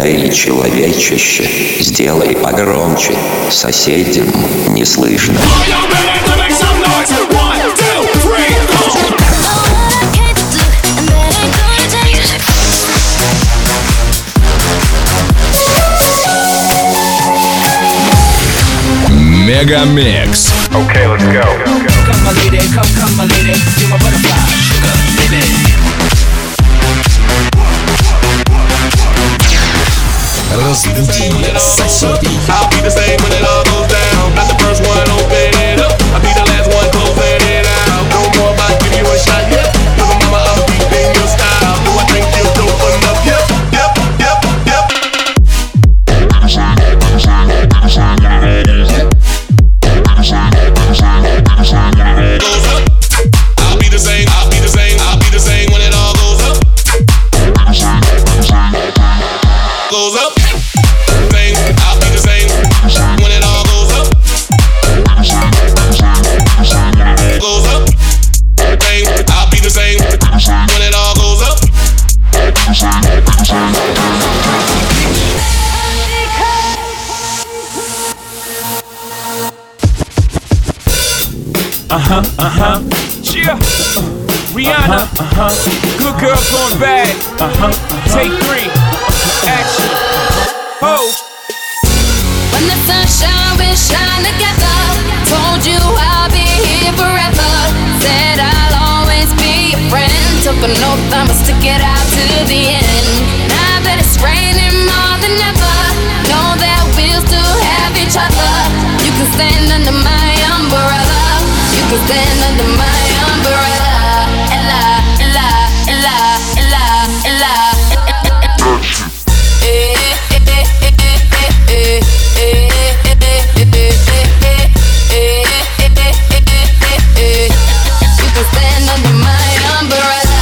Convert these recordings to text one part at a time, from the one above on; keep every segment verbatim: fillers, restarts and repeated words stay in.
Эй, человечище, сделай погромче, соседям не слышно. Мегамикс. Okay, let's go. Come my lady, come, come my lady, you're my butterfly, sugar, baby. Разбуди соседей. I'll be the same when it all goes down. Not the first one, open it up. I'll be the last one, closing it out. No more about give you a shot, yep. Cause I'm mama, I'm deep in your style. Do I think you're dope enough? Yep, yep, yep, yep. Goes up. I'll be the same, I'll be the same, I'll be the same when it all goes up. Goes up. Same, I'll be the same when it all goes up. Goes up. Same, I'll be the same when it all goes up. Uh-huh, uh-huh, yeah. Rihanna, uh-huh, good girl going bad. Uh-huh, take three, action. Oh. When the sunshine will shine together. Told you I'll be here forever. Said I'll always be your friend. Took an oath, I'ma stick it out to the end. Now that it's raining more than ever, know that we'll still have each other. You can stand under my umbrella. You can stand under my umbrella. Ella, Ella, Ella, Ella, Ella. You can stand under my umbrella.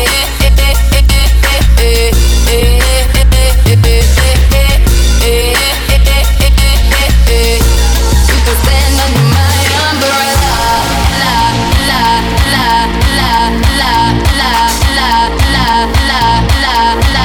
You can stand under my umbrella. La la la la la la la la la la la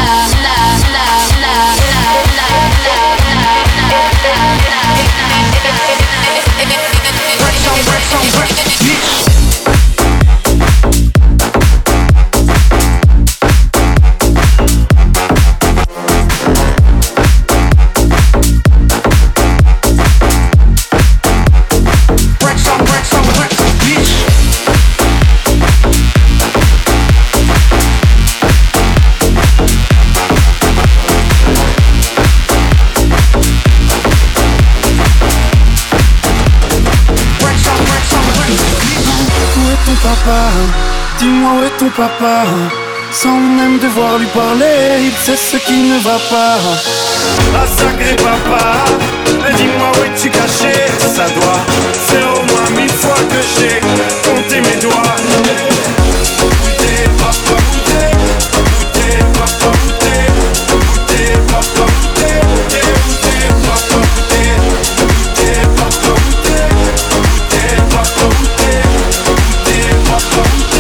Dis-moi où est ton papa? Sans même devoir lui parler, il sait ce qui ne va pas. Ah sacré papa, dis-moi où es-tu caché? Ça doit faire au moins mille fois que j'ai compté mes doigts. Goûtez, papa, goûtez, goûtez, papa, goûtez, goûtez, papa, goûtez, goûtez, papa, goûtez, goûtez, papa, goûtez, goûtez, papa, goûtez, goûtez, papa, goûtez.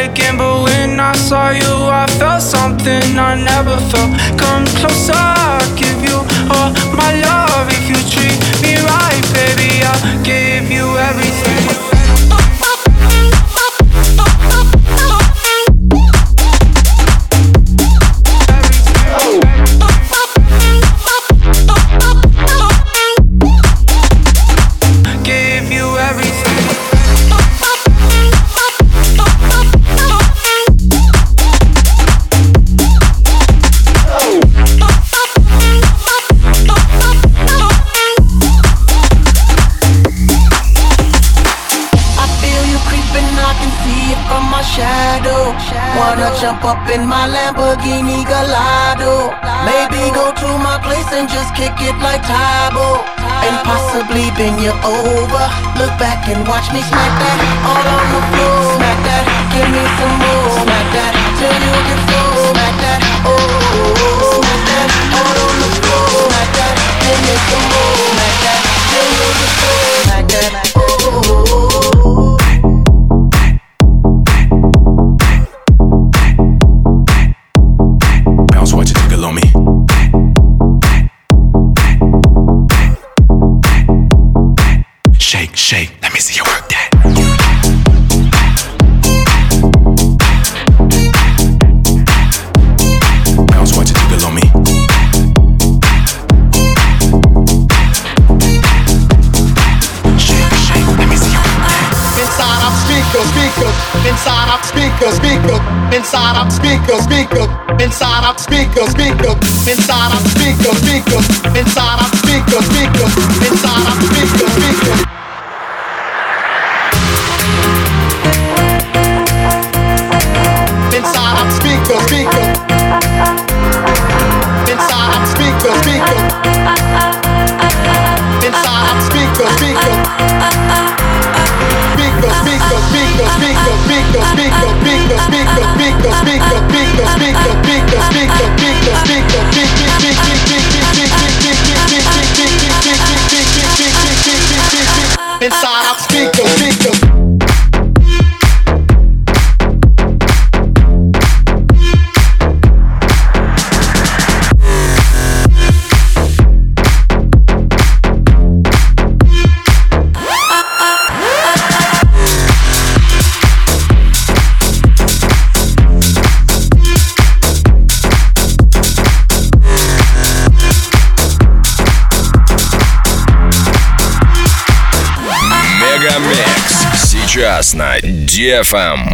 again, but when I saw you, I felt something I never felt. Come closer, I'll give you all my love. If you treat me right, baby, I'll give you everything. Jump up in my Lamborghini Gallardo. Maybe go to my place and just kick it like Tybo. And possibly bend you over. Look back and watch me smack that all on the floor. Smack that, give me some more. Smack that till you get full. Smack that, oh. Smack that all on the floor. Smack that, give me some more. Smack that till you get full. Smack that, oh. Shake, let me see you work that. Bounce, watch it jiggle on me. Shake, shake, let me see you work that. Inside I'm speaker, speaker. Inside I'm speaker, speaker. Inside I'm speaker, speaker. Inside I'm speaker, speaker. Inside I'm speaker, speaker. Inside I'm speaker, speaker. Inside I'm speaker, speaker. Inside I'm speaker, speaker. Inside I'm speaker, speaker. Inside I'm speaker, speaker. Speaker, speaker, speaker, speaker, speaker, speaker, speaker, speaker, speaker, speaker, speaker, speaker, speaker, speaker, speaker, speaker, inside I'm speaker, speaker. Сейчас на ди эф эм.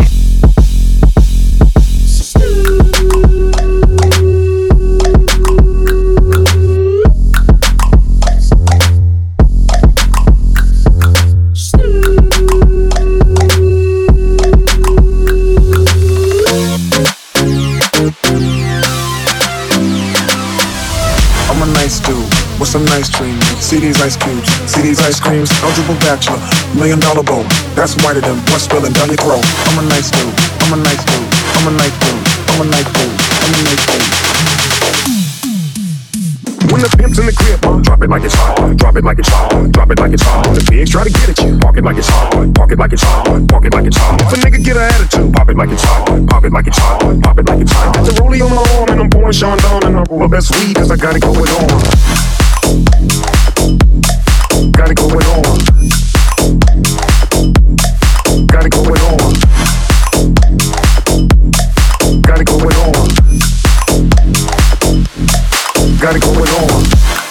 I'm a nice dude with some nice dreams. See these ice cubes, see these ice creams. Eligible bachelor, million dollar bowl. That's whiter than what's spilling down your throat. I'm a nice dude, I'm a nice dude, I'm a nice dude, I'm a nice dude, I'm a nice dude. When the pimp's in the crib, drop it like it's hot, drop it like it's hot, drop it like it's hot. The pigs try to get at you, park it like it's hot, park it like it's hot, park it like it's hot. If a nigga get an attitude, pop it like it's hot, pop it like it's hot, pop it like it's hot. Got the rollie on my arm and I'm pouring Sean Don and I'm my best weed cause I got it going on. Got it going on. Got it going on. Got it going on. Got it going on.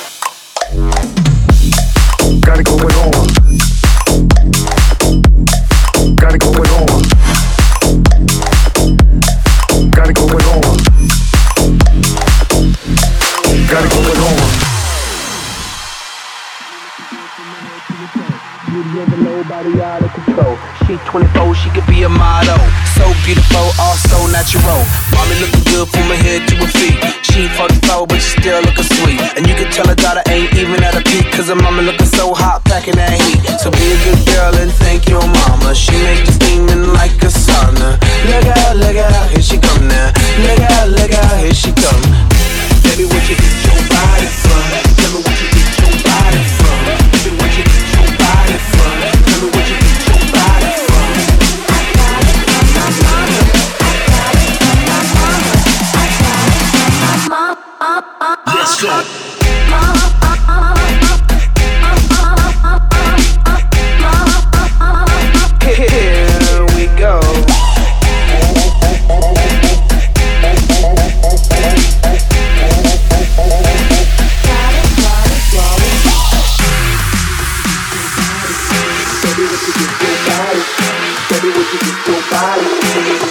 Got it going on. Got it going on. Got it going on. Got it going on. Nobody out of control. She twenty-four, she could be a model. So beautiful, also natural. Mommy looking good from her head to her feet. She forty-four, but she still looking sweet. And you can tell her daughter ain't even at a peak, cause her mama looking so hot, packing that heat. So be a good girl and thank your mama. She make you steaming like a sauna. Look out, look out, here she come now. Look out, look out, here she come. Baby, what you get your body from? Tell me what you get your body from. Baby, what you get your body from? Tell me what you get your body from.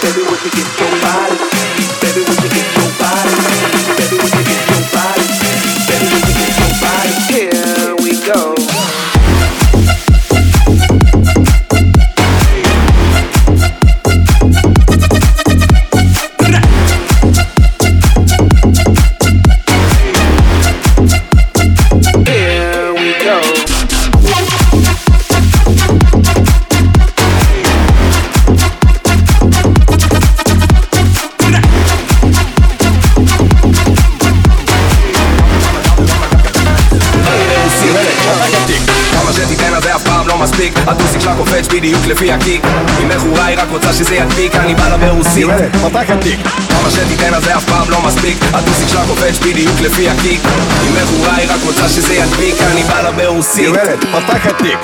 Baby, would you get your body? Baby, would you get your body? Baby, would you get your body? Baby, would you get your body? Here we go. הטוסיק שלה קופץ בדיוק לפי הקיק. היא מכורה, היא רק רוצה שזה ידביק. אני בא לה ברוסית, פתח התיק. כמה שתיתן אז זה אף פעם לא מספיק. הטוסיק שלה קופץ בדיוק לפי הקיק. היא מכורה, היא רק רוצה שזה ידביק. אני בא לה ברוסית, פתח התיק.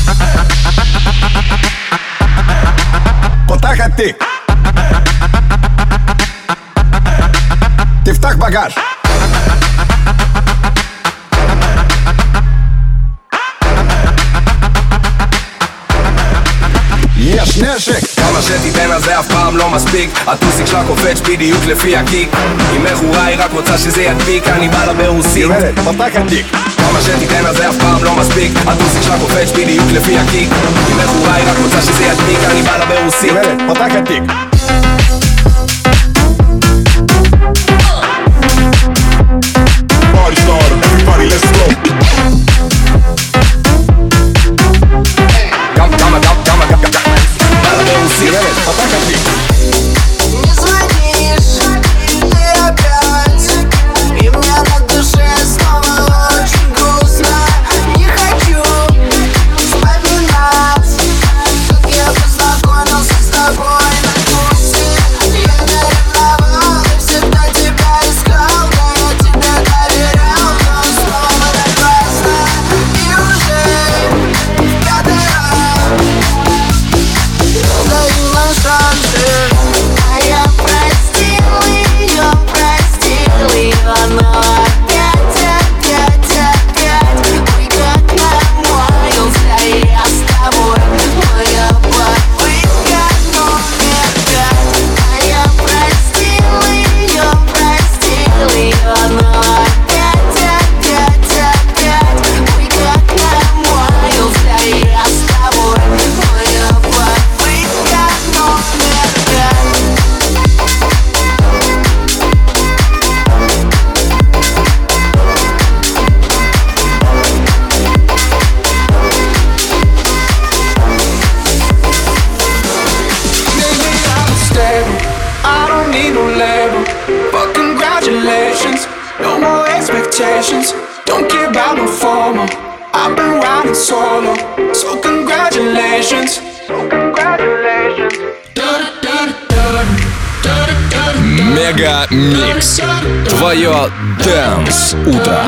פתח התיק. תפתח בגז. יש נשק. כמה שתיתן אז זה אף פעם לא מספיק. הטוסיק שלה קופץ בדיוק לפי הקיק. היא מכורה, היא רק רוצה שזה ידביק. אני בא לה ברוסית, פתח התיק. כמה שתיתן אז זה אף פעם לא מספיק. הטוסיק שלה קופץ בדיוק לפי הקיק. היא מכורה, היא רק רוצה שזה ידביק. אני בא לה ברוסית, פתח התיק. Party starter, everybody let's go. Come, come, come, come, come, come. Не звонишь, ты опять, и мне на душе снова очень грустно. Не хочу вспоминать, как я познакомился с тобой на курсе. Я не ревновал и всегда тебя искал, да я тебе доверял, но снова напрасно. И уже в пятый раз даю нам шансы. А я простил ее, простил ее, но опять, опять, опять мы как намоился, и я с тобой. Моя попытка номер пять. А я простил ее, простил ее, но опять, опять, опять мы как намоился, и я с тобой. Моя попытка номер пять. Maybe I'm stable, I don't need no label. But congratulations, no more expectations. Don't care about no formal, I've been riding solo. So congratulations, congratulations. Мега Микс. Твое Dance утро.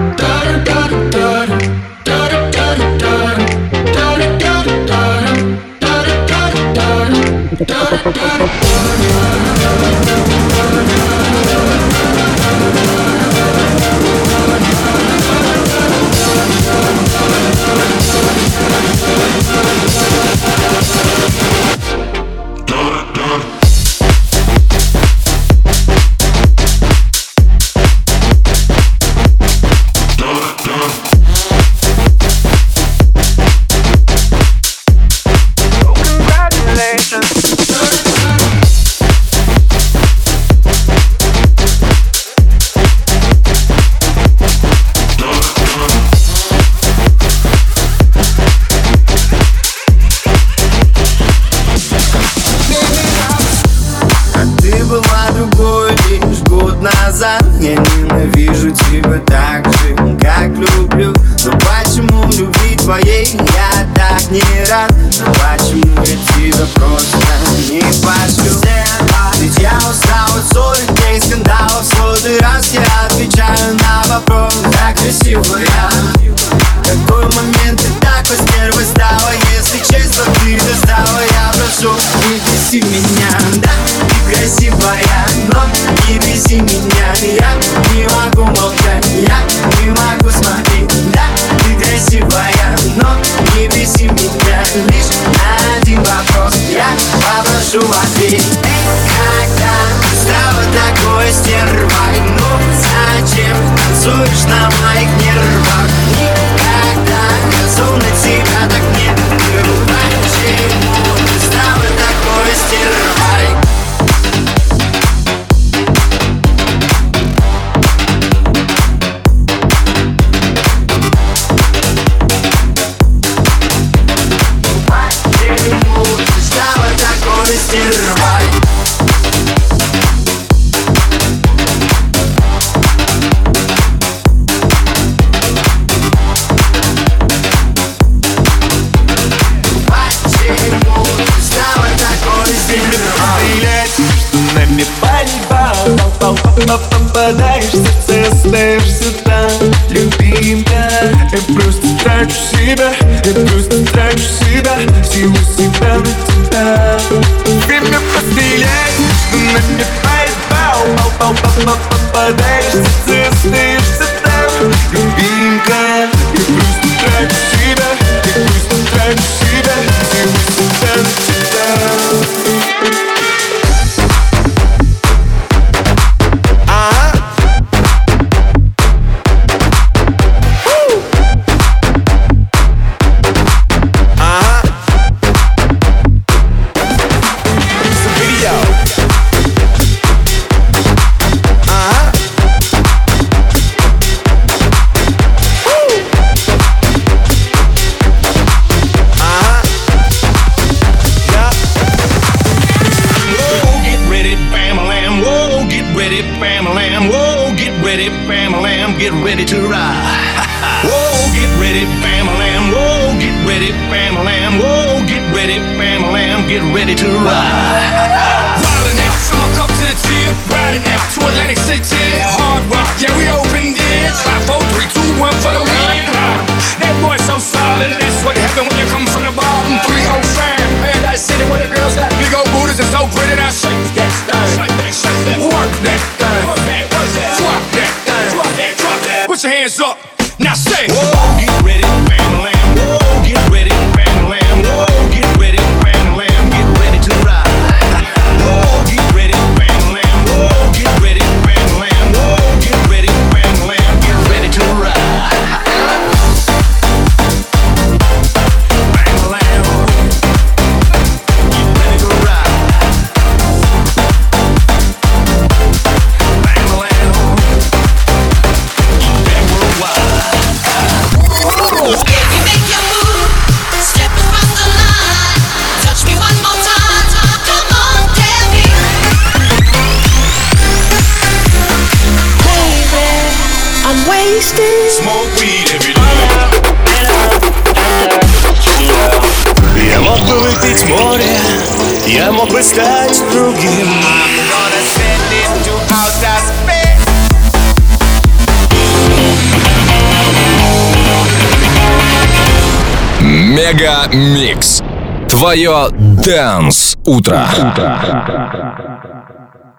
Ты была другой лишь год назад. Я ненавижу тебя так же, как люблю. Но почему любви твоей я так не рад? Но почему я тебя просто не пошлю? Ведь я устал от ссоры, дней скандалов. Сотый раз я отвечаю на вопрос: как красивая. Какой момент ты так постервой стала? Если честно, ты достала. Я прошу, не беси меня. Да, ты красивая, но не беси меня. Я не могу молчать, я не могу смотреть. Да, ты красивая, но не беси меня. Лишь на один вопрос я попрошу ответить. не рвай. Ну зачем танцуешь на моих нервах? Никогда безумно тебя так не люблю. Почему ты стала такой стервой? Попадаешь в сердце, остаешься там, любимка. Я просто трачу себя, я просто трачу себя, силу себя на тебя. Время пострелять, что на меня поебал. Попадаешь в сердце, остаешься там, любимка. Я просто трачу себя, я просто трачу себя, силу себя на тебя. Get ready to ride. Whoa, get ready, Bam-a-lam. Whoa, get ready, Bam-a-lam. Whoa, get ready, Bam-a-lam. Get ready to ride. Riding out, trunk up to the tip. Riding out to Atlantic City. Hard rock, yeah, we opened it. Five, four, three, two, one for the win. That boy's so solid. That's what happened when you come from the bottom. Three oh five, Paradise City, where the girls got big old booties and so pretty. Now shake that thing, work that thing, drop that thing. Put your hands up, now say. Whoa, get ready, Bam-a-lam. Whoa, get ready, Bam-a-lam. Whoa, get ready, Bam-a-lam. Get ready to ride. Whoa, get ready, Bam-a-lam. Whoa, get ready, Bam-a-lam. Whoa, get ready, Bam-a-lam. Get ready to ride. Bam-a-lam. Get ready to ride. Smoke weed every day. Я мог бы выпить море, я мог бы стать другим. Мега Микс. Твое Dance утро.